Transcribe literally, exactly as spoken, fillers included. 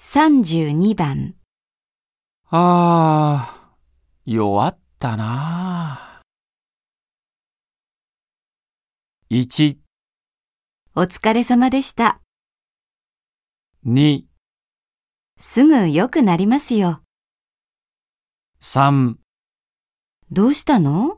さんじゅうにばん。 ああ、弱ったなあ。いち、 お疲れ様でした。 に、 すぐ良くなりますよ。 さん。 どうしたの？